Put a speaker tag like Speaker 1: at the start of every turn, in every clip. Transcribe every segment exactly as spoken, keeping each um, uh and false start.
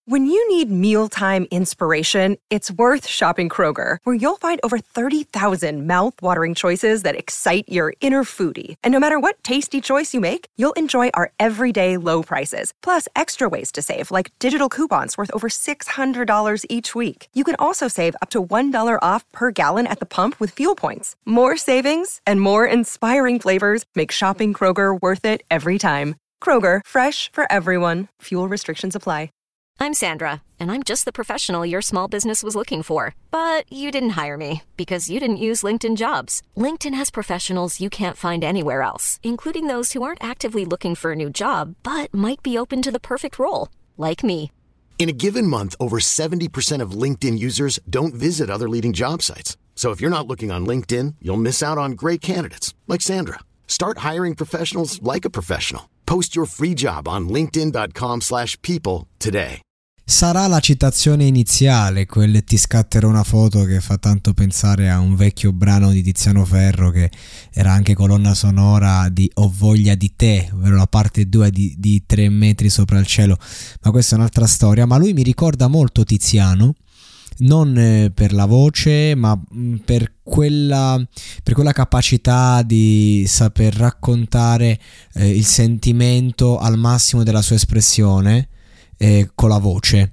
Speaker 1: When you need mealtime inspiration, it's worth shopping Kroger, where you'll find over thirty thousand mouth-watering choices that excite your inner foodie. And no matter what tasty choice you make, you'll enjoy our everyday low prices, plus extra ways to save, like digital coupons worth over six hundred dollars each week. You can also save up to one dollar off per gallon at the pump with fuel points. More savings and more inspiring flavors make shopping Kroger worth it every time. Kroger, fresh for everyone. Fuel restrictions apply.
Speaker 2: I'm Sandra, and I'm just the professional your small business was looking for. But you didn't hire me because you didn't use LinkedIn Jobs. LinkedIn has professionals you can't find anywhere else, including those who aren't actively looking for a new job, but might be open to the perfect role, like me.
Speaker 3: In a given month, over seventy percent of LinkedIn users don't visit other leading job sites. So if you're not looking on LinkedIn, you'll miss out on great candidates, like Sandra. Start hiring professionals like a professional. Post your free job on linkedin.com slash people today.
Speaker 4: Sarà la citazione iniziale, quel "ti scatterò una foto", che fa tanto pensare a un vecchio brano di Tiziano Ferro che era anche colonna sonora di Ho voglia di te, ovvero la parte due di, di Tre metri sopra il cielo, ma questa è un'altra storia. Ma lui mi ricorda molto Tiziano, non eh, per la voce, ma mh, per quella per quella capacità di saper raccontare eh, il sentimento al massimo della sua espressione eh, con la voce.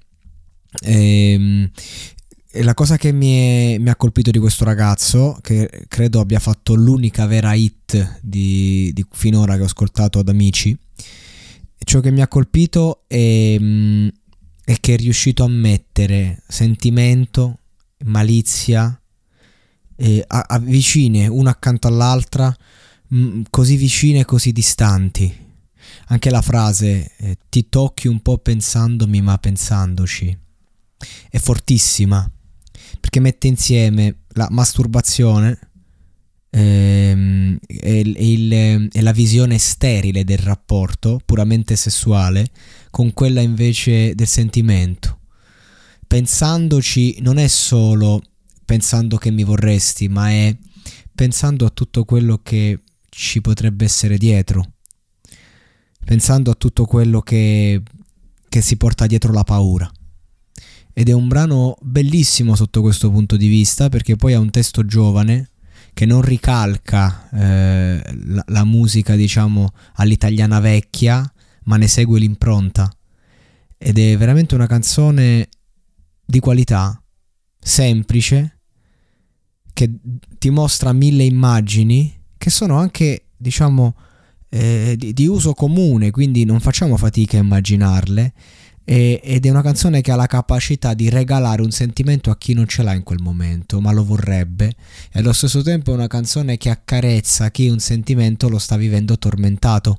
Speaker 4: E, e la cosa che mi, è, mi ha colpito di questo ragazzo, che credo abbia fatto l'unica vera hit di, di finora che ho ascoltato ad Amici, ciò che mi ha colpito è mh, e che è riuscito a mettere sentimento, malizia eh, a, a vicine una accanto all'altra, mh, così vicine e così distanti. Anche la frase eh, ti tocchi un po' pensandomi ma pensandoci è fortissima, perché mette insieme la masturbazione ehm, e, il, e la visione sterile del rapporto puramente sessuale con quella invece del sentimento. Pensandoci non è solo pensando che mi vorresti, ma è pensando a tutto quello che ci potrebbe essere dietro, pensando a tutto quello che, che si porta dietro la paura. Ed è un brano bellissimo sotto questo punto di vista, perché poi ha un testo giovane che non ricalca eh, la, la musica, diciamo, all'italiana vecchia, ma ne segue l'impronta, ed è veramente una canzone di qualità, semplice, che ti mostra mille immagini che sono anche, diciamo, eh, di, di uso comune, quindi non facciamo fatica a immaginarle, e, ed è una canzone che ha la capacità di regalare un sentimento a chi non ce l'ha in quel momento ma lo vorrebbe, e allo stesso tempo è una canzone che accarezza chi un sentimento lo sta vivendo tormentato.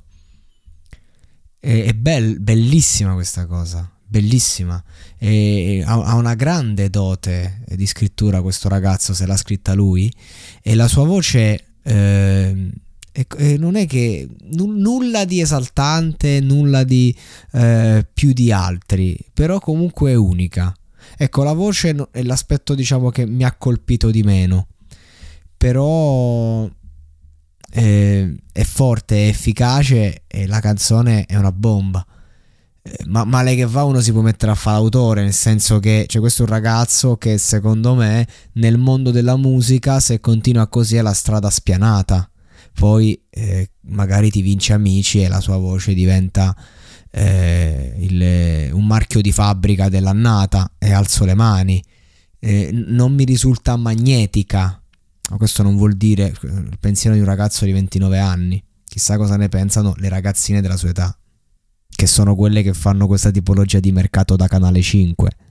Speaker 4: È bell, bellissima questa cosa, bellissima. E ha, ha una grande dote di scrittura questo ragazzo, se l'ha scritta lui, e la sua voce eh, è, è, non è che n- nulla di esaltante, nulla di eh, più di altri, però comunque è unica. Ecco, la voce è l'aspetto, diciamo, che mi ha colpito di meno, però Eh, è forte, è efficace, e la canzone è una bomba. Eh, ma male che va uno si può mettere a fare l'autore, nel senso che c'è questo un ragazzo che secondo me nel mondo della musica, se continua così, è la strada spianata. Poi eh, magari ti vince Amici e la sua voce diventa eh, il, un marchio di fabbrica dell'annata, e alzo le mani. Eh, non mi risulta magnetica. Ma questo non vuol dire il pensiero di un ragazzo di ventinove anni. Chissà cosa ne pensano le ragazzine della sua età, che sono quelle che fanno questa tipologia di mercato da Canale cinque.